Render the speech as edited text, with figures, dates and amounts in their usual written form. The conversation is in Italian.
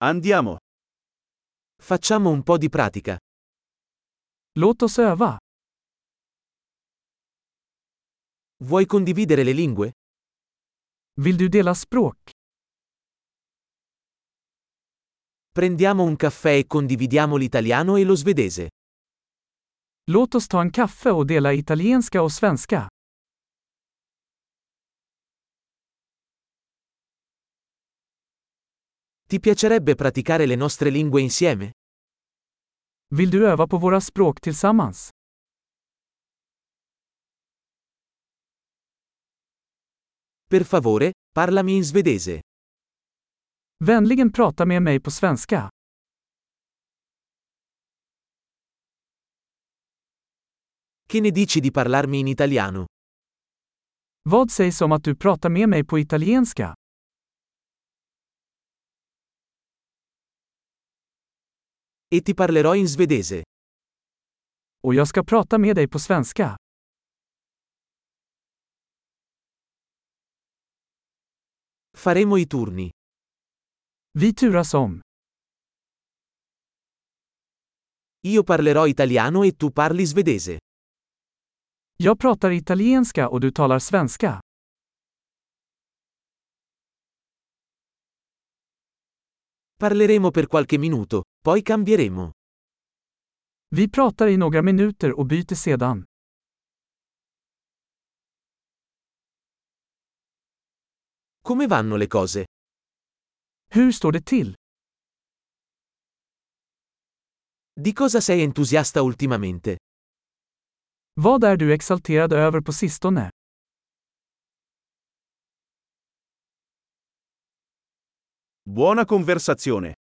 Andiamo. Facciamo un po' di pratica. Låt oss öva. Vuoi condividere le lingue? Vill du dela språk? Prendiamo un caffè e condividiamo l'italiano e lo svedese. Låt oss ta en kaffe och dela italienska och svenska. Ti piacerebbe praticare le nostre lingue insieme? Vill du öva på våra språk tillsammans? Per favore, parlami in svedese. Vänligen prata med mig på svenska. Che ne dici di parlarmi in italiano? Vad sägs om att du pratar med mig på italienska? E ti parlerò in svedese. Och jag ska prata med dig på svenska. Faremo i turni. Vi turas om. Io parlerò italiano e tu parli svedese. Jag pratar italienska och du talar svenska. Parleremo per qualche minuto, poi cambieremo. Vi pratar i några minuter och byter sedan. Come vanno le cose? Hur står det till? Di cosa sei entusiasta ultimamente? Vad är du exalterad över på sistone? Buona conversazione.